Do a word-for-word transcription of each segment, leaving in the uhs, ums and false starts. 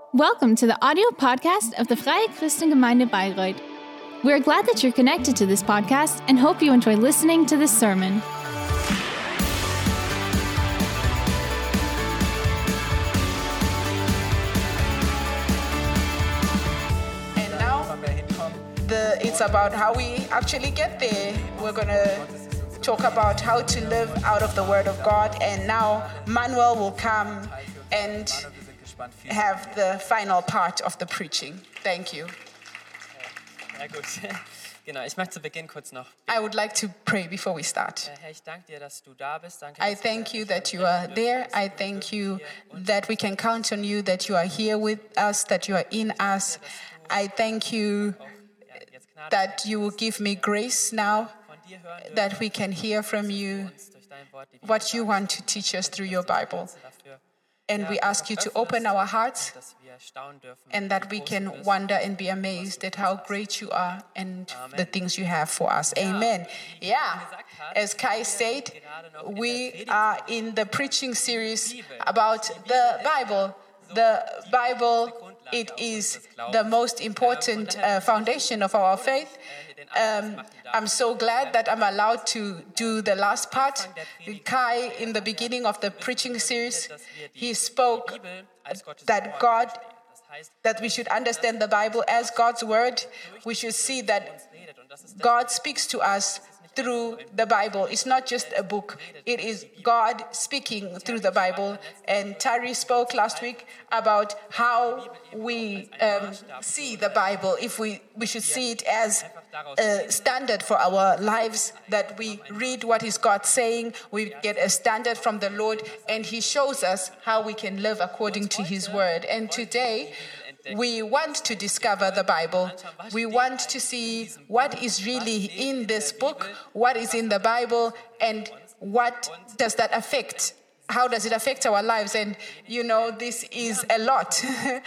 Welcome to the audio podcast of the Freie Christengemeinde Bayreuth. We're glad that you're connected to this podcast and hope you enjoy listening to this sermon. And now, the, it's about how we actually get there. We're going to talk about how to live out of the Word of God. And now, Manuel will come and have the final part of the preaching. Thank you. Ja, gut. Genau, ich möchte zu Beginn kurz noch I would like to pray before we start. Herr, ich danke dir, dass du da bist. Danke, I dass thank wir you that you are there. I thank you that we can count on you, that you are here with us, that you are in us. I thank you ja, jetzt Gnade that you will give me grace now, von dir hören dürfen, that we can hear from you uns durch dein Wort die what you want to teach us through your Bible. dafür, And we ask you to open our hearts dass wir staunen dürfen, and that we can wonder and be amazed at how great you are and the things you have for us. Amen. Yeah, as Kai said, we are in the preaching series about the Bible. The Bible, it is the most important uh, foundation of our faith. Um, I'm so glad that I'm allowed to do the last part. Kai, in the beginning of the preaching series, he spoke that God, that we should understand the Bible as God's word. We should see that God speaks to us through the Bible. It's not just a book. It is God speaking through the Bible. And Tari spoke last week about how we um, see the Bible. If we, we should see it as a standard for our lives, that we read what is God saying, we get a standard from the Lord, and He shows us how we can live according to His word. And today, we want to discover the Bible. We want to see what is really in this book, what is in the Bible, and what does that affect? How does it affect our lives? And, you know, this is a lot.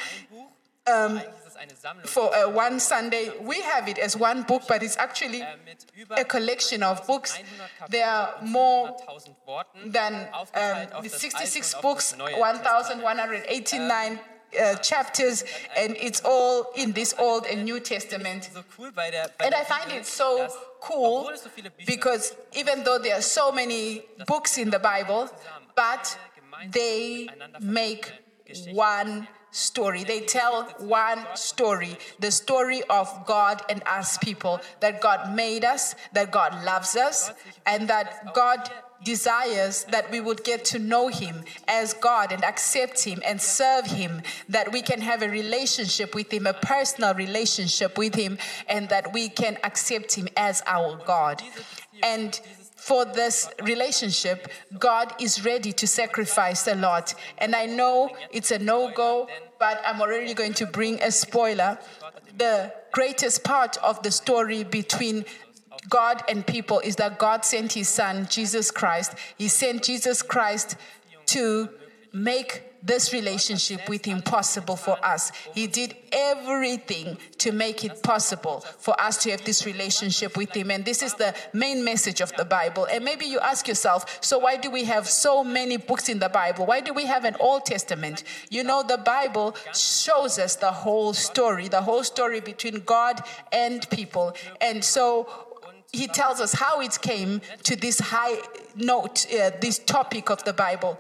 um, for uh, one Sunday, we have it as one book, but it's actually a collection of books. There are more than um, sixty-six books, one thousand one hundred eighty-nine Uh, chapters, and it's all in this Old and New Testament. And I find it so cool because even though there are so many books in the Bible, but they make one story. They tell one story, the story of God and us people, that God made us, that God loves us, and that God desires that we would get to know Him as God and accept Him and serve Him, that we can have a relationship with Him, a personal relationship with Him, and that we can accept Him as our God. And for this relationship, God is ready to sacrifice a lot. And I know it's a no-go, but I'm already going to bring a spoiler. The greatest part of the story between God and people is that God sent His Son, Jesus Christ. He sent Jesus Christ to make this relationship with Him possible for us. He did everything to make it possible for us to have this relationship with Him. And this is the main message of the Bible. And maybe you ask yourself, so why do we have so many books in the Bible? Why do we have an Old Testament? You know, the Bible shows us the whole story, the whole story between God and people. And so He tells us how it came to this high note, uh, this topic of the Bible.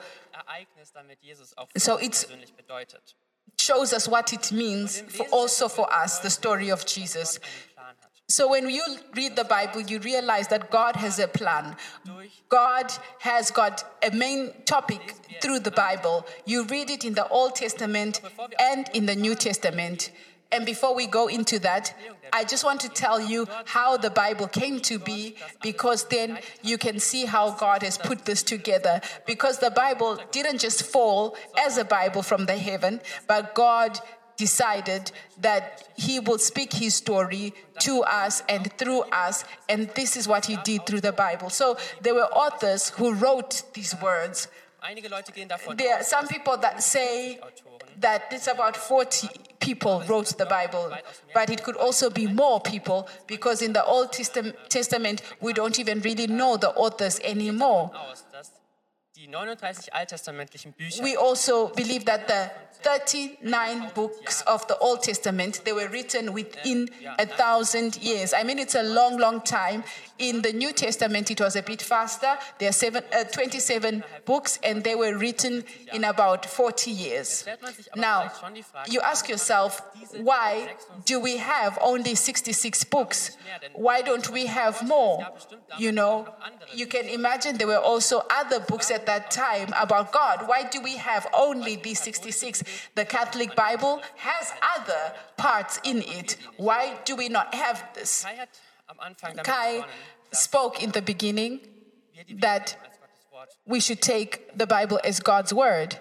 So it shows us what it means for also for us, the story of Jesus. So when you read the Bible, you realize that God has a plan. God has got a main topic through the Bible. You read it in the Old Testament and in the New Testament. And before we go into that, I just want to tell you how the Bible came to be, because then you can see how God has put this together. Because the Bible didn't just fall as a Bible from the heaven, but God decided that He will speak His story to us and through us, and this is what He did through the Bible. So there were authors who wrote these words. There are some people that say that it's about forty people wrote the Bible, but it could also be more people, because in the Old Testament we don't even really know the authors anymore. We also believe that the thirty-nine books of the Old Testament. They were written within a thousand years. I mean, it's a long, long time. In the New Testament, it was a bit faster. There are seven, uh, twenty-seven books, and they were written in about forty years. Now, you ask yourself, why do we have only sixty-six books? Why don't we have more? You know, you can imagine there were also other books at that time about God. Why do we have only these sixty-six? The Catholic Bible has other parts in it. Why do we not have this? Kai spoke in the beginning that we should take the Bible as God's word.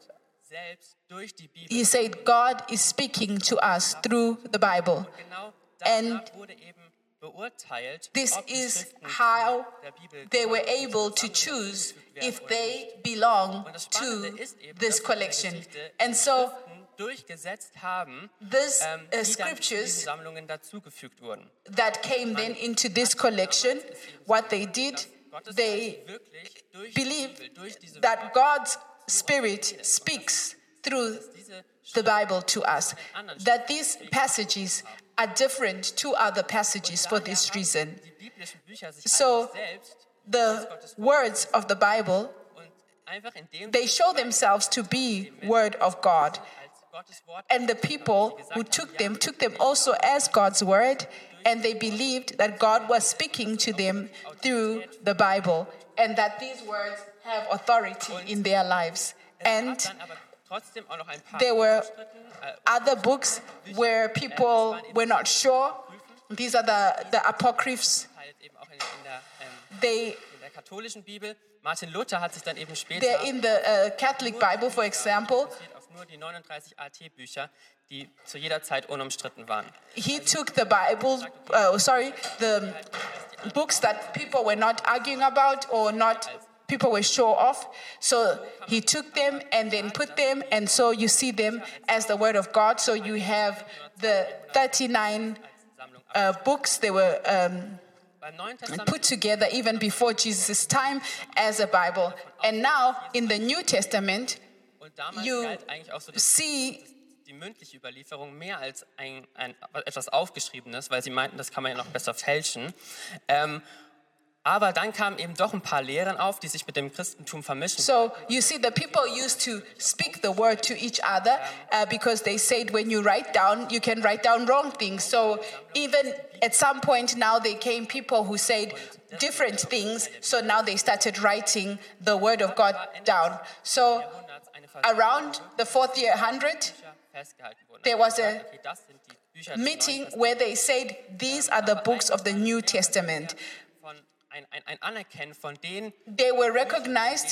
He said God is speaking to us through the Bible. And this is how they were able to choose if they belong to this collection. And so these uh, scriptures that came then into this collection, what they did, they believed that God's Spirit speaks through the Bible to us, that these passages are different to other passages for this reason. So the words of the Bible, they show themselves to be word of God. And the people who took them, took them also as God's word, and they believed that God was speaking to them through the Bible, and that these words have authority in their lives. And there were other books where people were not sure. These are the, the apocryphs. They, they're in the uh, Catholic Bible, for example. Nur die neununddreißig A T-Bücher, die zu jeder Zeit unumstritten waren. He took the Bible, uh, sorry, the books that people were not arguing about or not people were sure of. So he took them and then put them, and so you see them as the Word of God. So you have the thirty-nine uh, books. They were um, put together even before Jesus' time as a Bible. And now in the New Testament, you see die mündliche Überlieferung mehr als ein, ein, etwas Aufgeschriebenes, weil sie meinten, das kann man ja noch besser fälschen. Ähm, aber dann kamen eben doch ein paar Lehren auf, die sich mit dem Christentum vermischen. So you see, the people used to speak the word to each other uh, because they said when you write down, you can write down wrong things. So even at some point now, there came people who said different things. So now they started writing the word of God down. So around the fourth year hundred, there was a meeting where they said, these are the books of the New Testament. They were recognized.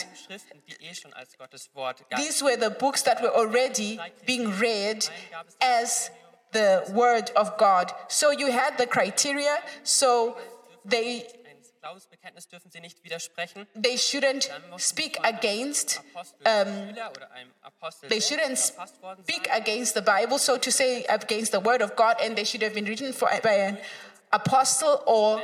These were the books that were already being read as the Word of God. So you had the criteria, so they They shouldn't speak against. Um, they shouldn't speak against the Bible, so to say, against the Word of God, and they should have been written for, by an apostle or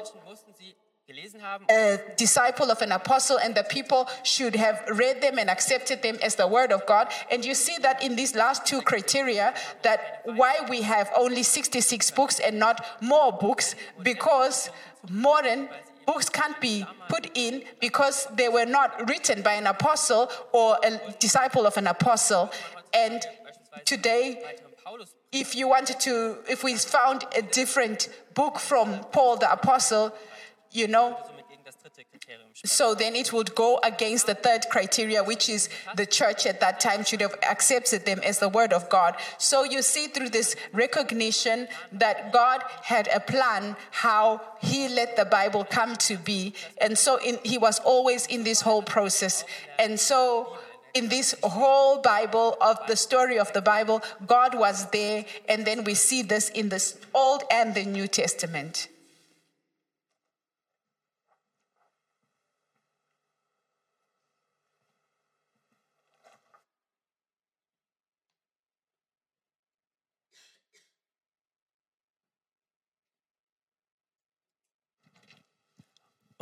a disciple of an apostle, and the people should have read them and accepted them as the Word of God. And you see that in these last two criteria, that why we have only sixty-six books and not more books, because modern books can't be put in because they were not written by an apostle or a disciple of an apostle. And today, if you wanted to, if we found a different book from Paul the apostle, you know, so then it would go against the third criteria, which is the church at that time should have accepted them as the Word of God. So you see through this recognition that God had a plan how He let the Bible come to be. And so in, He was always in this whole process. And so in this whole Bible, of the story of the Bible, God was there. And then we see this in the Old and the New Testament.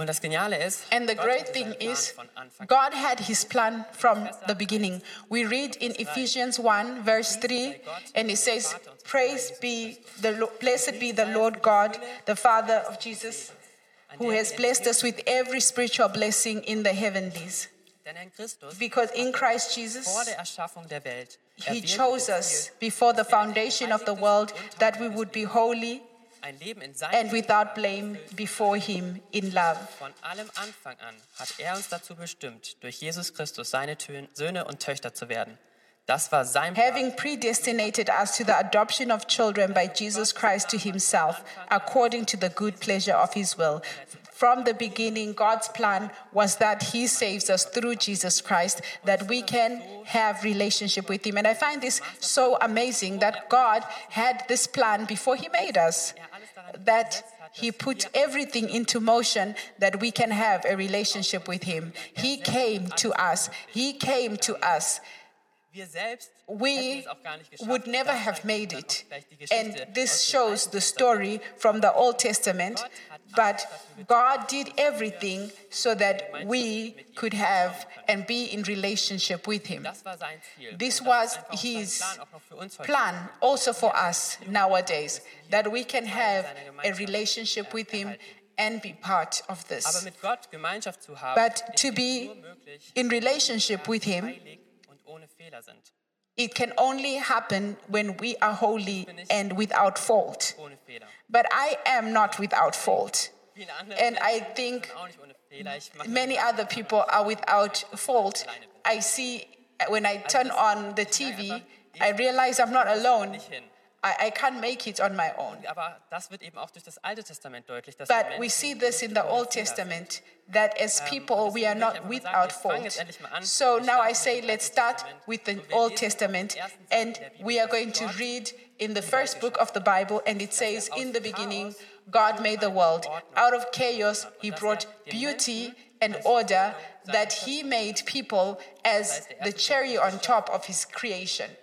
Und das Geniale ist, And the Gott great hatte thing seinen Plan is, von Anfang an. God had his plan from the beginning. We read in Ephesians one, verse three, and it says, Praise be the Lo- blessed be the Lord God, the Father of Jesus, who has blessed us with every spiritual blessing in the heavenlies. Denn in Christus, Because in Christ vor Jesus, der Erschaffung der Welt, he erwählte chose er us Ziel, before the dass wir ein foundation of the geheiligtes world und that we untadeliges would be Leben holy ein Leben in seinem and without Gegenwart blame erfüllt. before him in love. Von allem Anfang an hat er uns dazu bestimmt, durch Jesus Christus seine Tö- Söhne und Töchter zu werden. Das war sein Plan. Having predestinated us to the adoption of children by Jesus Christ to himself, according to the good pleasure of his will. From the beginning, God's plan was that he saves us through Jesus Christ, that we can have relationship with him. And I find this so amazing that God had this plan before he made us, that he put everything into motion that we can have a relationship with him. He came to us. He came to us. Wir selbst hätten We es auch gar nicht geschafft. would never Das have zeigt made dann it. auch gleich die Geschichte And this aus dem shows Alten the Testament. story from the Old Testament. But God did everything so that we could have and be in relationship with him. Das war sein Ziel. This Und das was ist einfach auch sein his Plan, auch noch für uns heute. plan also for us nowadays, that we can have a relationship with him and be part of Aber this. mit Gott Gemeinschaft zu haben, But ist to dies be nur möglich, in relationship with him, heilig und ohne Fehler sind. it can only happen when we are holy and without fault. Ohne Fehler. But I am not without fault. Viele andere And I Menschen think sind auch nicht ohne Fehler. Ich mache many other people are without fault. I see when I turn on the T V, I realize I'm not alone. nicht hin. I, I can't make it on my own. Aber das wird eben auch durch das Alte Testament deutlich, dass But die we Menschen see this in nicht the ohne Old Fehler sind. Testament that as people we are not without fault. So now I say let's start with the Old Testament, and we are going to read in the first book of the Bible, and it says, in the beginning God made the world. Out of chaos he brought beauty and order, that he made people as the cherry on top of his creation.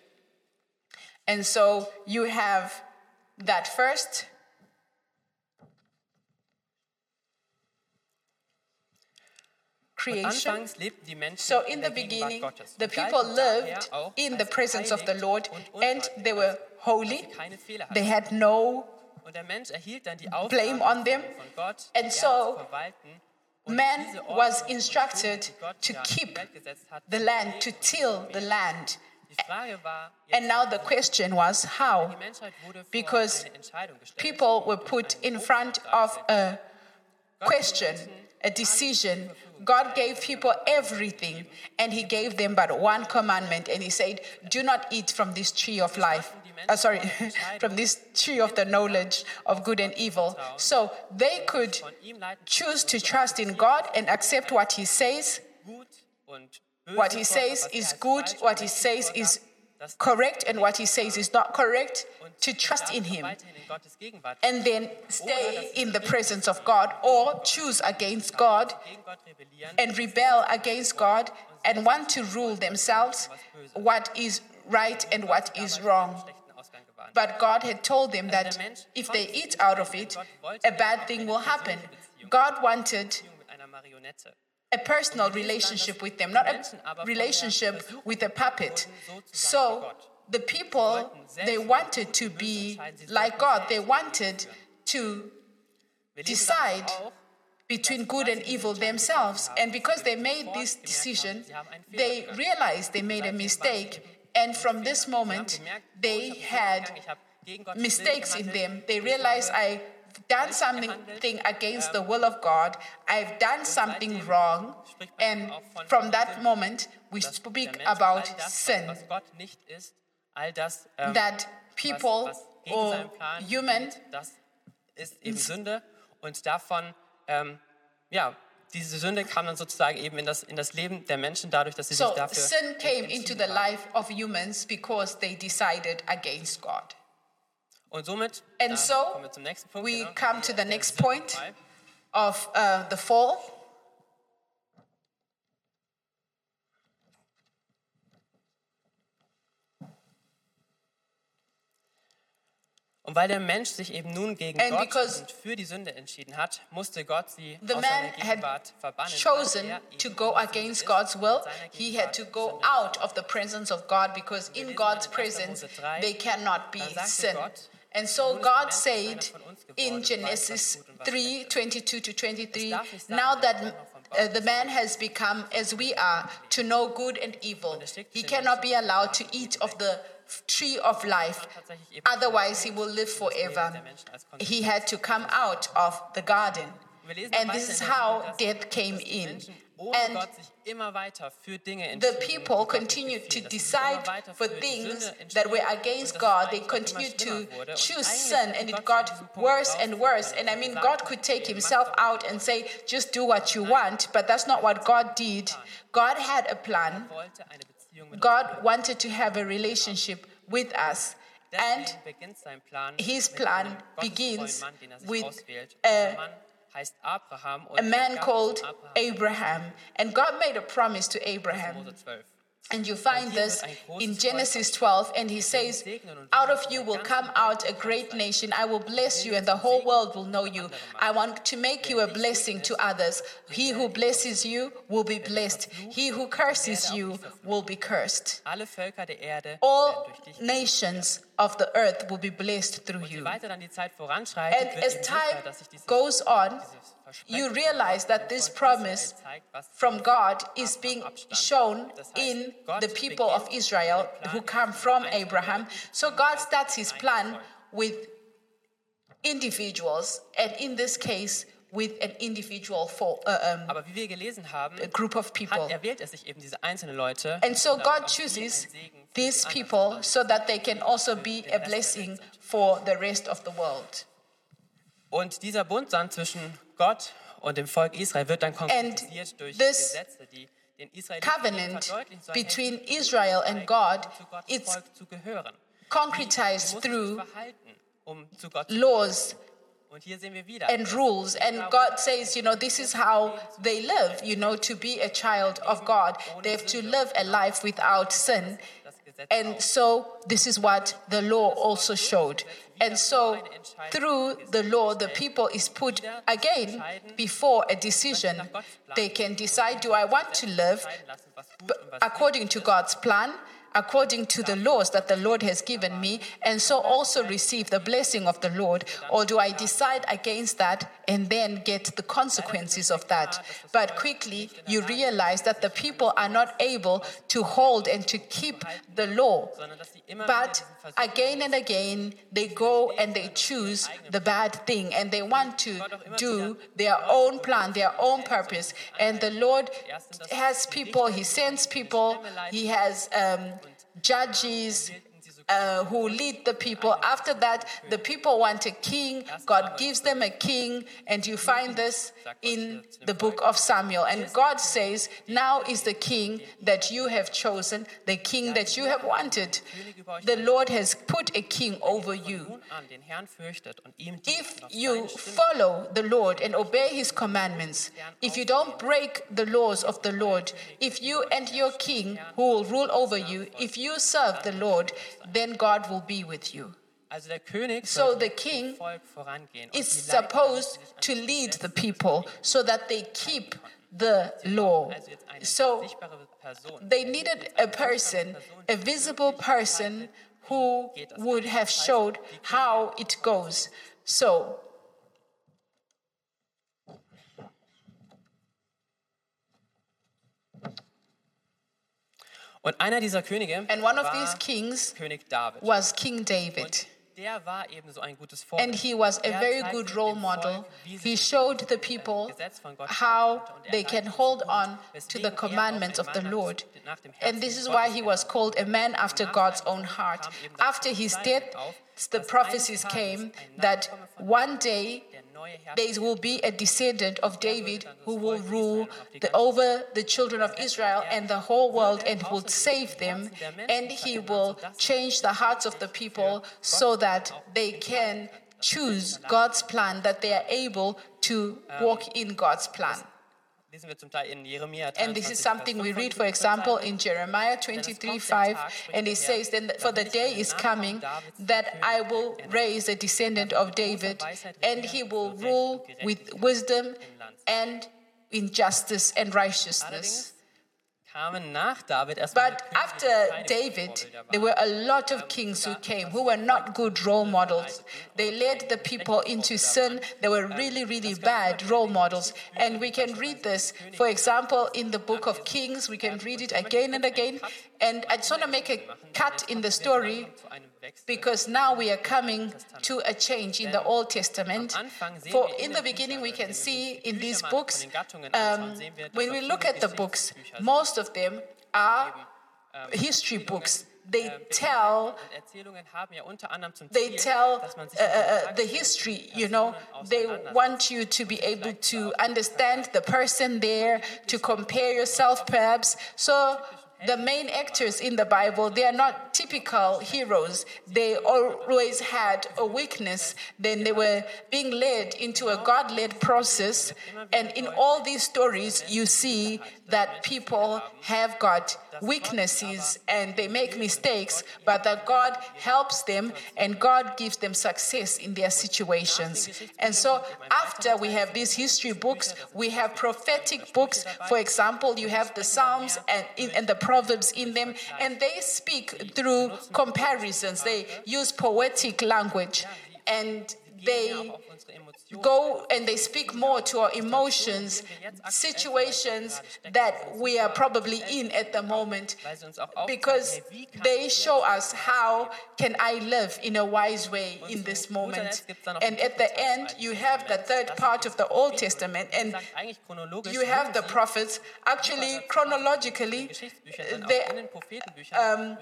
And so you have that first. Creation. Anfangs lebten die Menschen So in in the der Gegenwart beginning, Gottes the und people galten daher lived auch in the als presence of the geheiligt Lord, und and unparteiisch, they were weil holy. sie keine Fehler They hatten. had no Und der Mensch erhielt dann die blame Aufgabe on them. von Gott, And die so, Erde zu verwalten und man diese was Ordnung und instructed Struktur, die Gott to ja in die keep Welt gesetzt hat, the zu land, to pflegen. till the land. Die Frage war, And jetzt, now the question was how? die Menschheit wurde vor Because eine Entscheidung gestellt. People were put in front of a question, a decision. God gave people everything, and he gave them but one commandment, and he said, do not eat from this tree of life. Uh, sorry, from this tree of the knowledge of good and evil. So they could Von ihm leiten choose to trust in God and accept what he says. gut und böse What he vor, says was er is als good, falsch what und he richtig says vorgab, is das correct, and what he says is not correct, to trust in him. weiterhin in Gottes Gegenwart And then stay in the presence of God, or choose against God gegen Gott rebellieren, and rebel against God and want to rule themselves what is right and what is wrong. schlechten Ausgang gewarnt. But God had told them that if they eat out of it, a bad thing will happen. God wanted Beziehung mit einer Marionette. a personal relationship with them, not a relationship with a puppet. So the people, they wanted to be like God. They wanted to Wir lesen decide dann auch, between good and evil themselves. And because they made this decision, they realized they made a mistake. And from this moment, they had ich habe gegen Gottes mistakes Willen in gehandelt. them. They realized I've done something against the will of God. I've done something wrong. And from that moment, we Dass speak der Mensch about all das, sin. was Gott nicht ist, all das, ähm, That people was, was gegen or seinen Plan human geht, das ist eben Sünde. Und davon, ähm, ja, diese Sünde kam dann sozusagen eben in das, in das Leben der Menschen dadurch, dass sie So sich dafür sin came into entschieden the haben. life of humans because they decided against God. Und somit And äh, so, kommen wir zum nächsten Punkt. We genau. come to the Der next Sündenfall. point of uh, the fall. Und weil der Mensch sich eben nun gegen And Gott because und für die Sünde entschieden hat, musste Gott sie the aus man seiner had Gegenwart verbannen. chosen weil er to eben go Sünde against ist God's und will, in seiner he had Gegenwart to go Sünde out ist. of the presence of God, because in God's presence they cannot be sin. And so God said in Genesis three, twenty-two to twenty-three, now that uh, the man has become as we are, to know good and evil, he cannot be allowed to eat of the tree of life, otherwise he will live forever. He had to come out of the garden. And this is how death came in. And the people continued to decide for things that were against God. They continued to choose sin, and it got worse and worse. And I mean, God could take himself out and say, just do what you want, but that's not what God did. God had a plan. God wanted to have a relationship with us. And his plan begins with a a man called Abraham. And God made a promise to Abraham. And you find this in Genesis twelve, and he says, out of you will come out a great nation. I will bless you, and the whole world will know you. I want to make you a blessing to others. He who blesses you will be blessed. He who curses you will be cursed. All nations of the earth will be blessed through you. And as time goes on, you realize that this promise from God is being shown in the people of Israel who come from Abraham. So God starts his plan with individuals, and in this case, with an individual for, uh, um, Aber wie wir gelesen haben, a group of people. hat, erwählt er sich eben diese einzelnen Leute. And so God chooses these people so that they can also be a blessing for the rest of the world. Und dieser Bund dann zwischen Gott und dem Volk Israel wird dann konkretisiert durch this Gesetze, die den Israeliten Covenant verdeutlichen sollen, between Israel and God, zu Gottes it's Volk zu gehören. concretized Wie muss through sich verhalten, um zu Gott zu laws Und hier sehen wir wieder, and rules. And God says, you know, this is how they live, you know, to be a child of God. They have to live a life without sin. And so this is what the law also showed. And so through the law, the people is put again before a decision. They can decide, do I want to live according to God's plan, according to the laws that the Lord has given me, and so also receive the blessing of the Lord? Or do I decide against that and then get the consequences of that? But quickly you realize that the people are not able to hold and to keep the law. But again and again, they go and they choose the bad thing, and they want to do their own plan, their own purpose. And the Lord has people, he sends people, he has um, judges uh, who lead the people. After that, the people want a king. God gives them a king, and you find this in the book of Samuel. And God says, now is the king that you have chosen, the king that you have wanted. The Lord has put a king over you. If you follow the Lord and obey his commandments, if you don't break the laws of the Lord, if you and your king who will rule over you, if you serve the Lord, then God will be with you. So the king is supposed to lead the people so that they keep the law. So they needed a person, a visible person, who would have showed how it goes. So Und einer dieser Könige and one of war these kings König David. was King David. Der war ebenso ein gutes And Vorbild. he was a Er very zeigte good dem role Volk, model. wie sie He sich showed the an people dem Gesetz von Gott how halten, und er they can leitete hold sie on gut, to weswegen the er auch commandments ein of the Mann Lord. nach dem And Herzen this is Gottes why he was genannt called a man after Nach God's seinem own Tod heart. kam eben das After his Zeichen death, auf, the dass prophecies eines came Tages ein that Nachkomme von one David day der neue Herrscher there will be a descendant of David dann das who will Volk rule Israel auf die the, ganze over the children of Israel and the whole world and will außerdem save die them, Herzen der Menschen and he verändern, will sodass sie change the hearts of the people so that they can choose God's plan, that they are able to walk in God's plan. lesen wir zum Teil in Jeremia And this is dreiundzwanzig, something Vers we read, for fünfundsechzig, example, Zeichen. in Jeremiah twenty-three five, and it says, "Then for the day is coming that I will raise a descendant of David, and he will rule with wisdom and in justice and righteousness." Kamen nach David erstmal But Könige, after die keine David, Vorbilder there waren. were a lot of kings who came who were not good role models. They led the people into sin. They were really, really bad role models. And we can read this, for example, in the book of Kings. We can read it again and again. And I just want to make a cut in the story, because now we are coming to a change in the Old Testament. For in the beginning, we can see in these books, um, when we look at the books, most of them are history books. They tell, they tell uh, uh, the history, you know. They want you to be able to understand the person there, to compare yourself perhaps. So the main actors in the Bible, they are not typical heroes. They always had a weakness. Then they were being led into a God-led process. And in all these stories, you see that people have got weaknesses and they make mistakes, but that God helps them and God gives them success in their situations. And so after we have these history books, we have prophetic books. For example, you have the Psalms and, in, and the Proverbs in them, and they speak through comparisons. They use poetic language, and they go and they speak more to our emotions, situations that we are probably in at the moment, because they show us how can I live in a wise way in this moment. And at the end, you have the third part of the Old Testament, and you have the prophets. Actually, chronologically, they, um,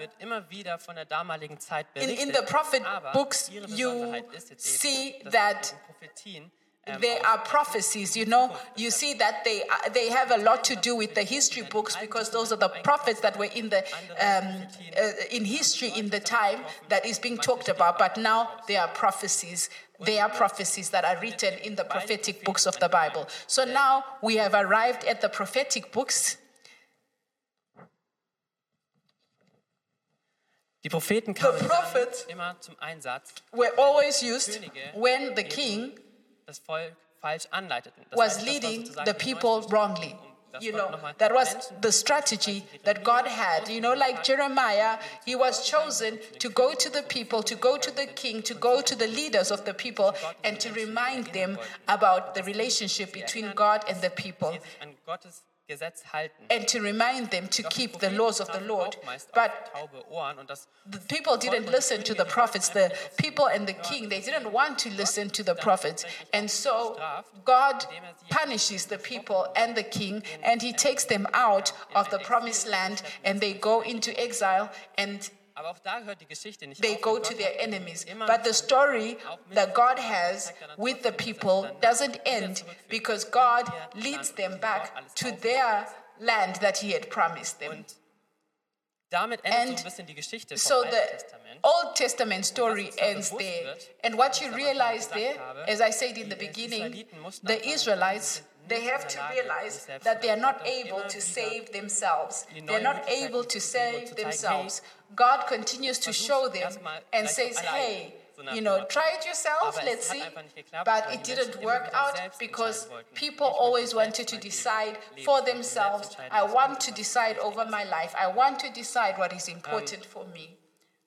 in, in the prophet books, you see that there are prophecies, you know. You see that they uh, they have a lot to do with the history books, because those are the prophets that were in the um, uh, in history in the time that is being talked about. But now there are prophecies. There are prophecies that are written in the prophetic books of the Bible. So now we have arrived at the prophetic books. Die Propheten kamen The prophets immer zum Einsatz, were always used when the king das Volk falsch anleiteten. Das was heißt, das war leading sozusagen the die people Neuschrift, wrongly. um das You Volk know, nochmal that was Menschen the strategy that God had. You know, like Jeremiah, he was chosen to go to the people, to go to the king, to go to the leaders of the people, and to remind them about the relationship between God and the people, die sich an Gottes Gesetz halten. and to remind them to keep the laws of the Lord. But taube Ohren und das the people didn't listen to the prophets. The people and the king, they didn't want to listen to the prophets. And so God punishes the people and the king, and he takes them out of the promised land, and they go into exile, and aber auch da hört die Geschichte nicht they auf. go Und to Gott their hat enemies. immer But the story auch mit that God dem has zeigt er dann with the trotzdem, dass people dann doesn't wieder end, zurückführt. because God Ihr leads Land them und back dort alles to aufbaut. their land that he had promised them. Und damit endet And so ein bisschen die Geschichte vom So Alten the Testament. Old Testament story ends there. And what you realize there, as I said in the beginning, the Israelites, they have to realize that they are not able to save themselves. They're not able to save themselves. God continues to show them and says, hey, you know, try it yourself, let's see. But it didn't work out because people always wanted to decide for themselves. I want to decide over my life. I want to decide what is important for me.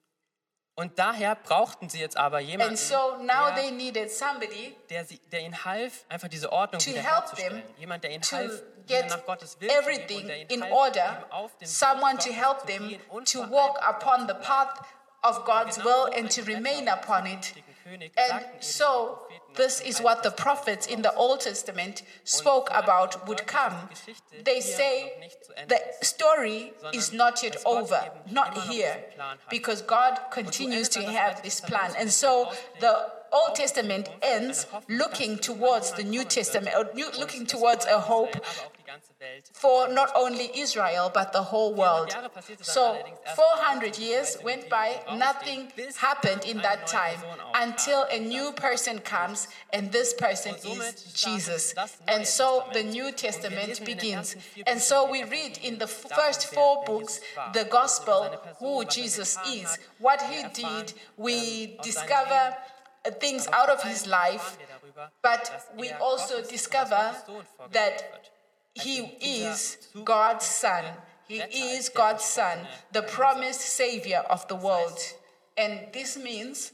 Und daher brauchten sie jetzt aber jemanden, And so now der, they needed somebody der, sie, der ihnen half, einfach diese Ordnung to help wiederherzustellen. them Jemand, der ihnen to half, get nach Gottes Willen zu leben everything und der ihnen in half, order, eben auf dem someone Weg to Gottes help zu them gehen und to vor walk allem upon Gott the zu path of God's Genau will so and to ein remain Retter upon des it. künftigen Königs And sagten eben so, die Propheten this aus dem is Alten what the Testament prophets in voraus. the Old Testament spoke about would come. They say the story is not yet over, not here, because God continues to have this plan. And so the Old Testament ends looking towards the New Testament, or new, looking towards a hope, ganze Welt. for not only Israel, but the whole world. So four hundred years went by, nothing happened in that time until a new person comes, and this person is Jesus. And so the New Testament begins. And so we read in the first four books the gospel who Jesus is, what he did. We discover things out of his life, but we also discover that he is God's son. He is God's son, the promised savior of the world. And this means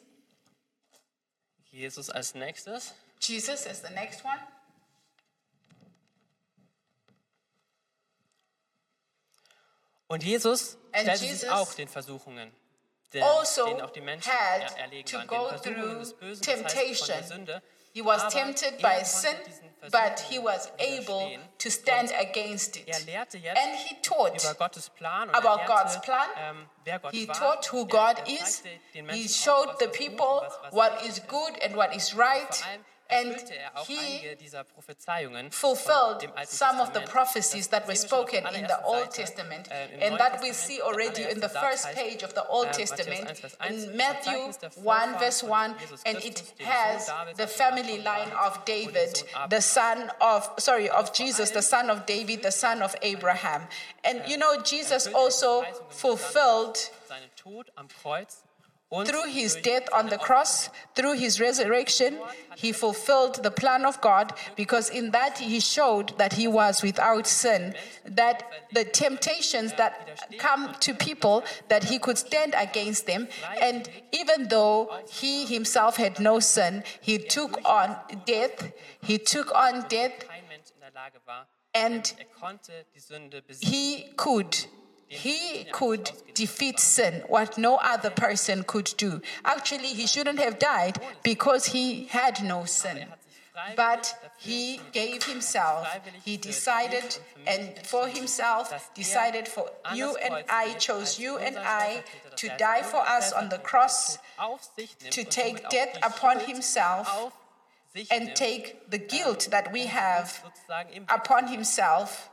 Jesus als nächstes. Jesus is the next one. Und Jesus And stellte Jesus sich auch den Versuchungen, den, also denen auch die Menschen had er- erlegen to waren, go den Versuchungen through des Bösen, das heißt von der temptation. Sünde. He was Aber tempted er by konnte sin, diesen but he Versuchungen was able widerstehen. to stand against it. Er lehrte jetzt And he taught über Gottes Plan und about er God's lehrte, plan. ähm, wer Gott He war. taught who Er- God er is. zeigte den He Menschen showed auf, the was gut und people was- was what richtig is ist. good and what is right. Vor allem And erfüllte er auch he einige dieser Prophezeiungen fulfilled dem Alten some of the Testament. prophecies that were Das sehen wir schon auf spoken der in the allerersten Old Seite, Testament, äh, im and Neuen that we Testament. see Der already in the allererste first Satz page of the heißt, Old äh, Matthäus Testament, eins, Vers eins, in Matthew Verzeichnis der one, Vorfahren verse von one, Jesus and Christus, it dem has Sohn Davids, the dem family Nachkommen line Davids of und dem David, Sohn Abraham. the son of, sorry, of Jesus, the son of David, the son of Abraham. And you know, Jesus also fulfilled seinen Tod am Kreuz und through his durch death on the seine cross, through his resurrection, he fulfilled the plan of God, because in that he showed that he was without sin, that the temptations that come to people, that he could stand against them. And even though he himself had no sin, he took on death, he took on death, kein Mensch in der Lage war, and er konnte die Sünde besiegen. he could. He could defeat sin, what no other person could do. Actually, he shouldn't have died because he had no sin. But he gave himself, he decided, and for himself, decided for you and I, chose you and I to die for us on the cross, to take death upon himself, and take the guilt that we have upon himself.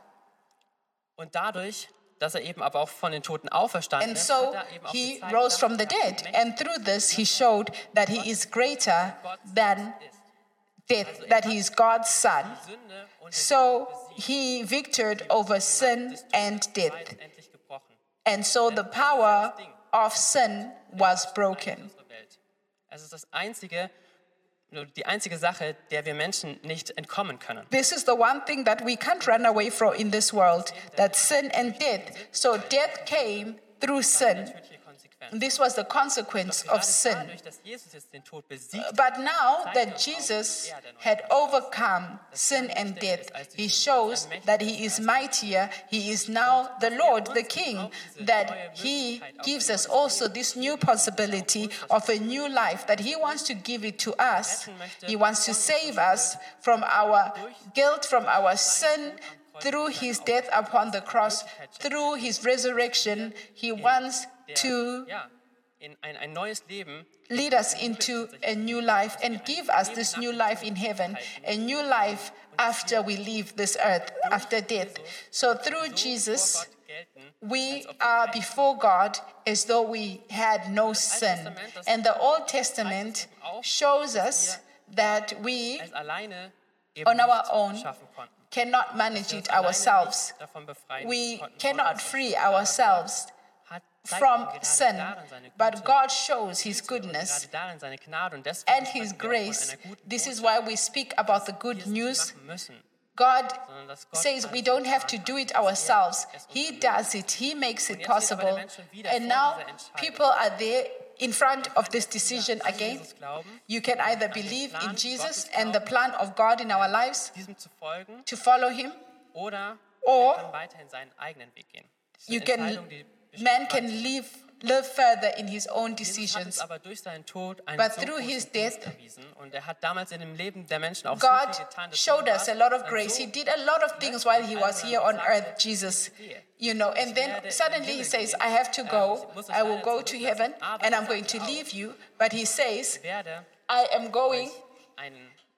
Und dadurch, dass er eben aber auch von den Toten auferstanden And ist, so hat er eben auch he gezeigt, rose dass from the er dead. mächtig And through this, he showed that he is greater than ist. death, that he is God's son. Die Sünde und den So Tod besiegt, he victored over sin and death. endlich gebrochen. And so the power of sin was broken. Unsere Welt. Es ist das einzige, nur die einzige Sache, der wir Menschen nicht entkommen können. This is the one thing that we can't run away from in this world, that sin and death. So death came through sin. Natürliche Konsequenz. And this was the consequence of Gerade sin. dadurch, dass Jesus jetzt den Tod besiegt, But now that Jesus had overcome sin and death, he shows that he is mightier. He is now the Lord, the King, that he gives us also this new possibility of a new life, that he wants to give it to us. He wants to save us from our guilt, from our sin, through his death upon the cross, through his resurrection. He wants der, to ja, in ein, ein neues Leben lead us into a new life and give us this new life in heaven, a new life after we leave this earth, after death. So through vor Jesus, Gott gelten. we are before God as though we had no sin. And the Old Testament shows us that we als alleine eben on our nicht own schaffen konnten. cannot manage Wir it uns alleine ourselves. nicht davon befreien We konnten, von cannot unserer free Sünde. Aber ourselves Gott hat- zeigt from uns gerade sin, darin seine but Güte, God shows his und goodness gerade darin seine Gnade und deswegen and his sprechen wir auch von grace. einer guten This is Botschaft, why we speak about the die good wir es nicht news. machen müssen, God sondern dass Gott says alles we don't have to getan do hat, it dass er ourselves. es uns He ermöglicht. does it. He makes Und it jetzt steht aber der possible. Mensch schon wieder And vor now dieser Entscheidung. people are there in front of this decision An again. Jesus glauben, You can either believe in Jesus and the plan of God in our lives, diesem zu folgen, to follow him, oder Or er kann weiterhin seinen eigenen Weg gehen. Das ist you eine can, Entscheidung, die bestimmt man can bleibt. live, live further in his own Jesus hat decisions. uns aber durch seinen Tod einen But so through großen his Dienst death, erwiesen. Und er hat damals in dem Leben der Menschen auch God so viel getan. dass showed er us a lot of dann grace. so He did a lot of things while he was here on earth, Jesus. You know, and then suddenly he says, I have to go. I will go to heaven and I'm going to leave you. But he says, werde I am going einen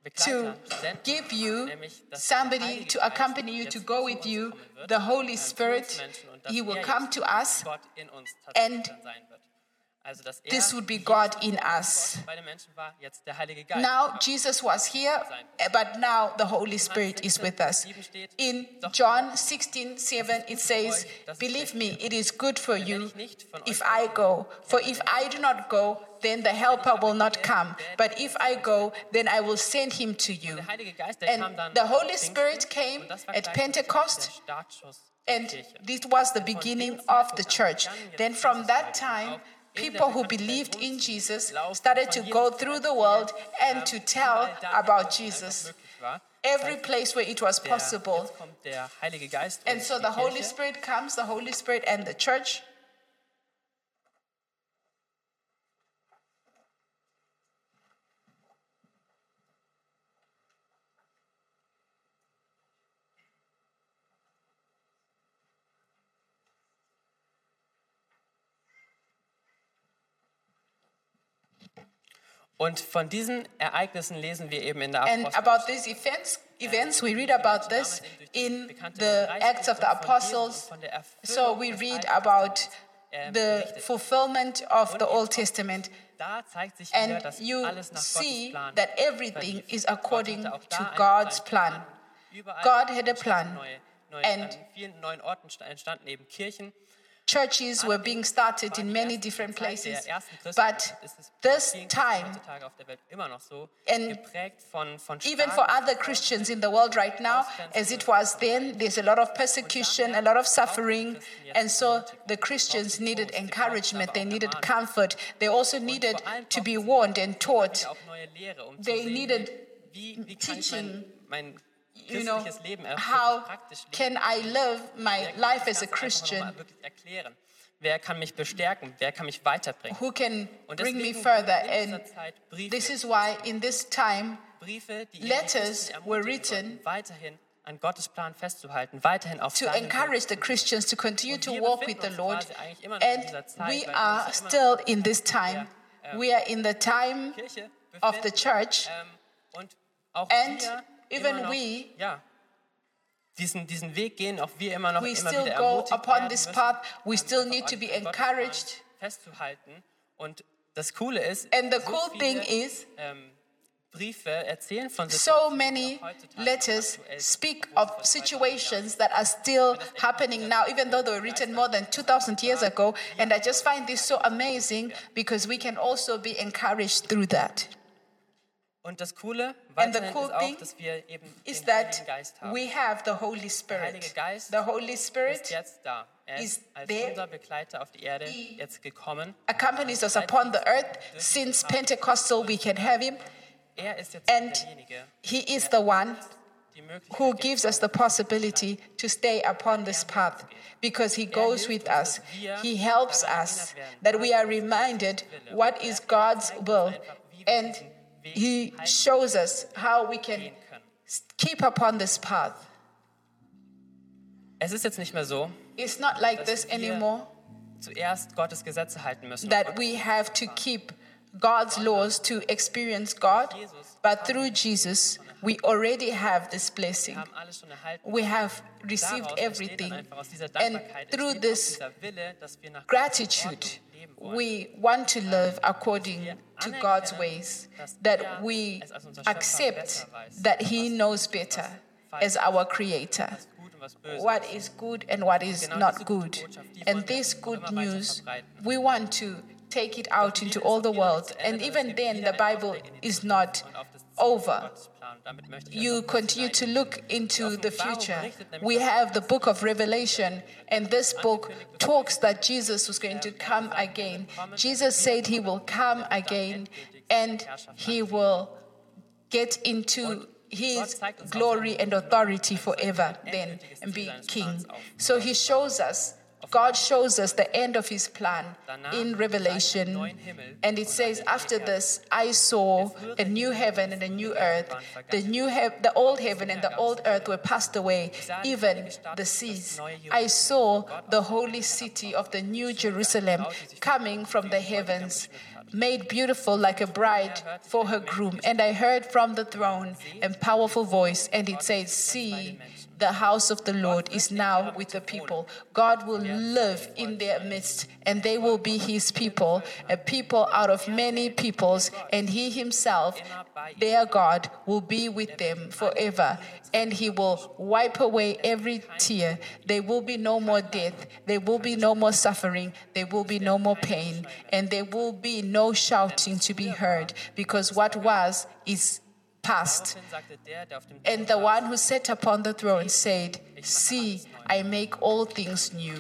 Begleiter to senden, give you nämlich, dass somebody der Heilige to Geist accompany you, jetzt to zu go uns with you, kommen wird, the Holy ähm, zu uns Spirit. Menschen, und dass He will er come jetzt to us, Gott in uns and tatsächlich dann sein wird. Also, dass er this would be jetzt God in Gott us. bei den Menschen war, jetzt der Heilige Geist. Now Jesus was here, but now the Holy Spirit is with us. In John sixteen seven it says, "Believe me, it is good for you if I go. For if I do not go, then the Helper will not come. But if I go, then I will send him to you." Der Heilige Geist, der kam And dann the am Holy Pfingsten, Spirit came und das war at gleichzeitig Pentecost, der Startschuss der and Kirche. this was the beginning of the church. Then from that time, people who believed in Jesus started to go through the world and to tell about Jesus. Every place where it was possible. Jetzt kommt der Heilige Geist And und so die the Holy Kirche. Spirit comes, the Holy Spirit and the church. Und von diesen Ereignissen lesen wir eben in der And Apostelgeschichte. about these events, events we read about this in the Acts of the Apostles. So we read about the fulfillment of the Old Testament. Da zeigt sich wieder, And dass you alles nach Gottes see Plan that everything verlief. is according Gott hatte auch to da einen God's Plan. plan. Überall God had a entstanden plan. Neue, neue, And an vielen neuen Orten sta- entstanden eben Kirchen. Churches were being started in many different places. But this time, heutzutage auf der Welt immer noch so, and geprägt von, von even for starken other Christians in the world right now, as it was then, there's a lot of persecution, a lot of suffering. And so the Christians needed encouragement, they needed comfort. They also needed to be warned and taught. auch neue Lehre, um They zu sehen, needed wie, wie kann ich teaching, mein, mein You know, christliches Leben auch how wirklich praktisch leben. can I live my Wer kann life das as a Ganze einfach Christian? noch mal wirklich erklären? Wer kann mich bestärken? Wer kann mich weiterbringen? Who can Und bring me deswegen further? in dieser And Zeit Briefe, this is why in this time, Briefe, die letters ihre Christen were ermutigen written sollten, weiterhin an Gottes Plan festzuhalten, weiterhin auf to seinen encourage the Weg. Christians to continue Und to wir walk with befinden the uns Lord. quasi eigentlich immer noch in And dieser Zeit, we weil are wir uns immer still in this time. ähm, We are in the time Kirche of the befinden. church. Ähm, und auch And wir even immer noch, we- ja, diesen, diesen Weg gehen, auch wir immer noch We immer still wieder go ermutigt upon werden this müssen, path. We ähm, still einfach need to an be Gottes Plan encouraged. festzuhalten. Und das Coole ist, And the so cool viele, thing is, ähm, Briefe erzählen von so Situationen, many die auch heutzutage noch letters aktuell sind, speak wo of vor zweitausend situations that are still happening now, even though they were written more than two thousand years ago. And I just find this so amazing because we can also be encouraged through that. Und das Coole And the weiterhin cool ist auch, thing dass wir eben Is den that Heiligen Geist haben. we have the Holy Der Spirit. Heilige Geist The Holy ist Spirit jetzt da. Er is ist als there. unser Begleiter auf die Erde He jetzt gekommen. accompanies us upon the earth. Since Pentecostal, we can have him. Er ist jetzt And derjenige, he is the one die Möglichkeit who gibt, gives us the possibility to stay upon this path because he goes with us. He helps us that we are reminded what is God's will, and he shows us how we can gehen können. keep upon this path. Es ist jetzt nicht mehr so, It's not like this anymore zuerst Gottes Gesetze halten müssen. that we have to keep God's laws to experience God, but through Jesus, we already have this blessing. Wir haben alles schon erhalten. We have received Daraus entsteht everything. dann einfach aus dieser And Dankbarkeit through entsteht this auch dieser Wille, dass wir nach gratitude, Gottes Ordnung leben wollen. we want to live according to God's ways, that we accept that He knows better as our Creator, Was gut und was böse what ist. is good and what is not good. And this good news, we want to take it out into all the world. And even then, the Bible is not Und auf das Ziel over. Gottes Plan. Damit möchte ich You einfach continue to hineingehen. look into the future. We have the book of Revelation, and this book talks that Jesus was going to come again. Jesus said he will come again, and he will get into his glory and authority forever then and be king. So he shows us God shows us the end of his plan in Revelation. And it says, after this, I saw a new heaven and a new earth. The new he- the old heaven and the old earth were passed away, even the seas. I saw the holy city of the new Jerusalem coming from the heavens, made beautiful like a bride for her groom. And I heard from the throne a powerful voice, and it says, see, the house of the Lord is now with the people. God will live in their midst, and they will be his people, a people out of many peoples, and he himself, their God, will be with them forever. And he will wipe away every tear. There will be no more death. There will be no more suffering. There will be no more pain. And there will be no shouting to be heard, because what was is past. And the one who sat upon the throne said, see, I make all things new.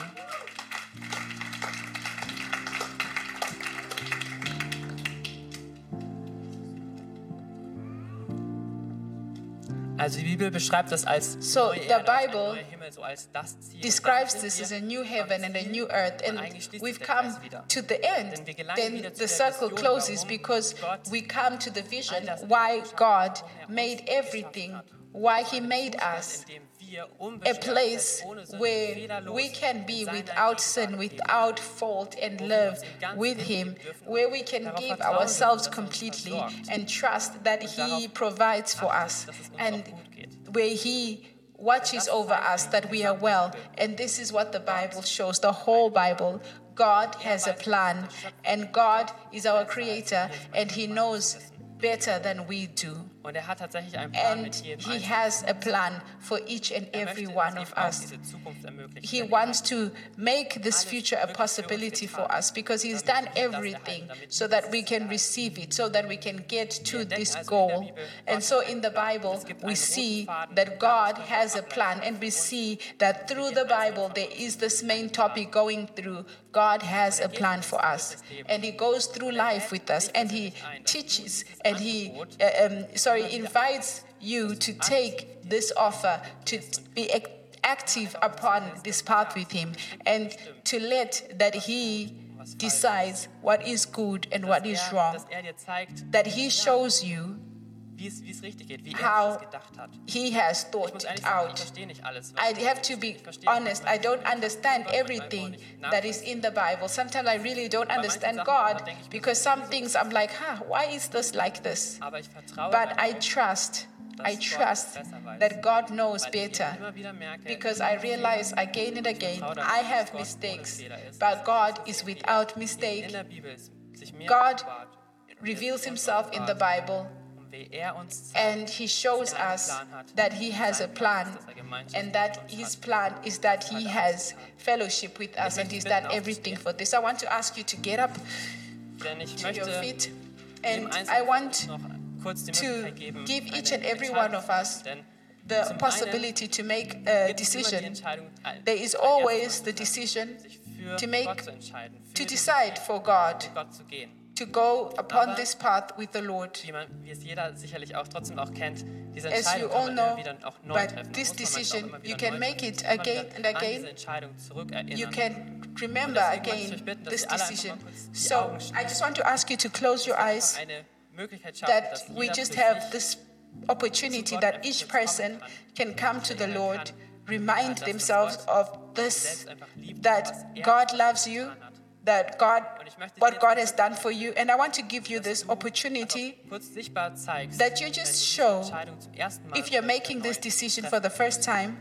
Also die Bibel beschreibt das als So neue the Erde, ein Bible neuer Himmel, so als das Ziel. describes Und dann this sind as a wir new am heaven and a Ziel, new earth, und and eigentlich schließt we've sich der come Kreis wieder. to the end. Denn wir gelangen Then wieder zu the der circle Vision, closes warum because Gott we come to the vision all das why God warum er uns made geschaffen everything, hat. why he Einen made Zustand, us. in dem wir A unbeschwert place sind, ohne Sünde, where fehlerlos we can in be seiner without Gegenwart sin, leben. without fault, and Wo wir live uns im Ganzen with hingeben him, dürfen, where we can darauf give vertrauen ourselves dürfen, dass er uns completely versorgt. and trust that Und he darauf provides for achten, us, dass es uns and auch gut geht. where he watches over us, that we are well. And this is what the Bible shows, the whole Bible. God has a plan, and God is our creator, and he knows better than we do. Und er hat tatsächlich einen Plan mit And jedem he Einzelnen. has a plan for each and Er every möchte one uns of auch us. diese Zukunft ermöglichen. He Denn er wants hat to make this future a possibility for us, because he's done everything so that we can receive it, so that we can get to this goal. And so in the Bible, we see that God has a plan, and we see that through the Bible, there is this main topic going through. God has a plan for us, and he goes through life with us, and he teaches, and he, uh, um, sorry, invites you to take this offer, to be ac- active upon this path with him, and to let that he decides what is good and what is wrong, dass er dir zeigt, that he shows you wie es, wie es richtig geht, wie how er es gedacht hat. he has Ich thought muss it ehrlich sagen, ich out. verstehe nicht alles. was I er have tut. to be Ich verstehe honest, I manchmal don't understand Gott manchmal auch everything nicht that is in the Bible. Sometimes I really don't understand Sachen, God, da denke ich mir, because some things I'm like, huh, why is this like this? Aber ich vertraue But I darauf, trust, dass I Gott trust besser weiß. that God knows Weil ich better, immer wieder merke, because I realize again and again, vertraue I darauf, have dass Gott mistakes, ohne Fehler ist. but God is without in mistake. der Bibel ist, sich mehr God offenbart, reveals himself in the Bible, und wie er uns zeigt, and he shows us that he has a plan, and that his plan is that he has fellowship with us, and he's done everything for this. I want to ask you to get up denn ich to your möchte feet, jedem and I Einzelnen want noch kurz die to Möglichkeit geben, give each eine and every Entscheidung one of zu treffen. us Denn the zum possibility to make a einen gibt es immer die decision. Entscheidung, There is als always erstes the mal decision sich für to make- Gott zu entscheiden, für to den decide Weg for God, mit Gott zu gehen. to go upon Aber- this path with the Lord. Wie, man, wie es jeder sicherlich auch trotzdem auch kennt, diese As you Entscheidung all kann man immer know, wieder auch neu but treffen. this Da muss man manchmal auch decision, immer you wieder can neu make treffen. it Immer wieder again and an again. diese Entscheidung zurückerinnern. You can Und remember deswegen möchte ich again euch bitten, dass this ihr alle einfach decision. mal kurz die So Augen I schließt. just want to ask you to close your eyes, Eine Möglichkeit schaffen, that dass we jeder just für have sich this opportunity that each person can come to the Lord, remind themselves of this, that God loves you, that God, what God has done for you. And I want to give you this opportunity kurz sichtbar zeigst, that you wenn just du diese show, Entscheidung zum ersten Mal if you're making this decision for the first time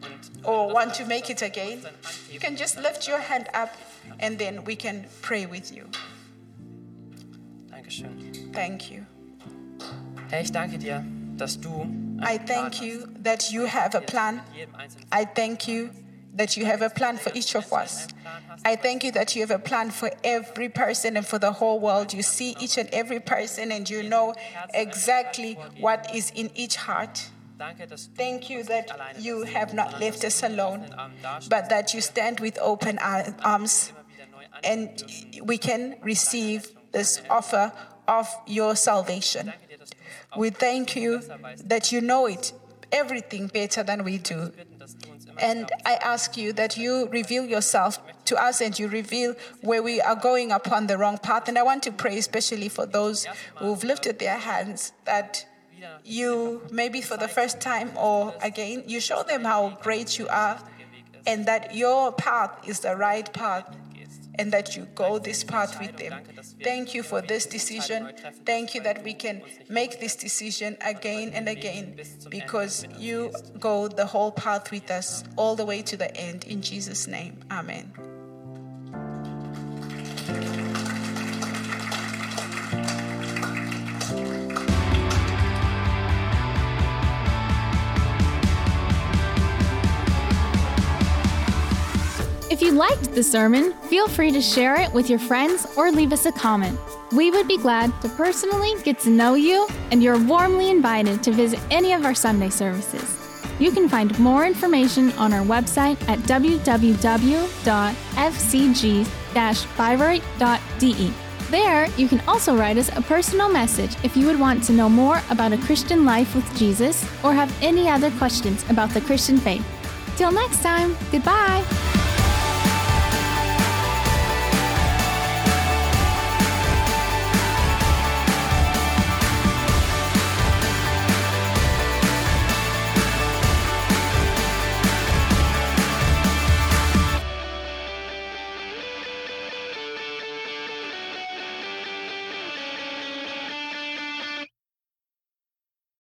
or want to make it again, you can just lift your hand up and then we can pray with you. Dankeschön. Thank you. Herr, ich danke dir, dass du einen I Plan thank hast. you that you have a plan. Mit jedem Einzelnen. I thank you that you have a plan for each of us. I thank you that you have a plan for every person and for the whole world. You see each and every person and you know exactly what is in each heart. Danke, dass du Thank you uns that nicht alleine you lässt, have not sondern left dass us du mit alone, offenen Armen dastehst, but that you stand with open ar- arms immer wieder neu and annehmen dürfen. we can receive this offer of your salvation. Danke dir, dass du es auch We thank you that you know it, everything better than we do. bitten, dass du uns immer And glaubst. I ask you that you reveal yourself Ich möchte to us and you reveal where we are going upon the wrong path. And I want to pray especially for those who've lifted their hands, that you, maybe for the first time or again, you show them how great you are and that your path is the right path and that you go this path with them. Thank you for this decision. Thank you that we can make this decision again and again because you go the whole path with us all the way to the end. In Jesus' name, amen. If you liked the sermon, feel free to share it with your friends or leave us a comment. We would be glad to personally get to know you, and you're warmly invited to visit any of our Sunday services. You can find more information on our website at w w w dot f c g dash bayreuth dot d e. There, you can also write us a personal message if you would want to know more about a Christian life with Jesus or have any other questions about the Christian faith. Till next time, goodbye!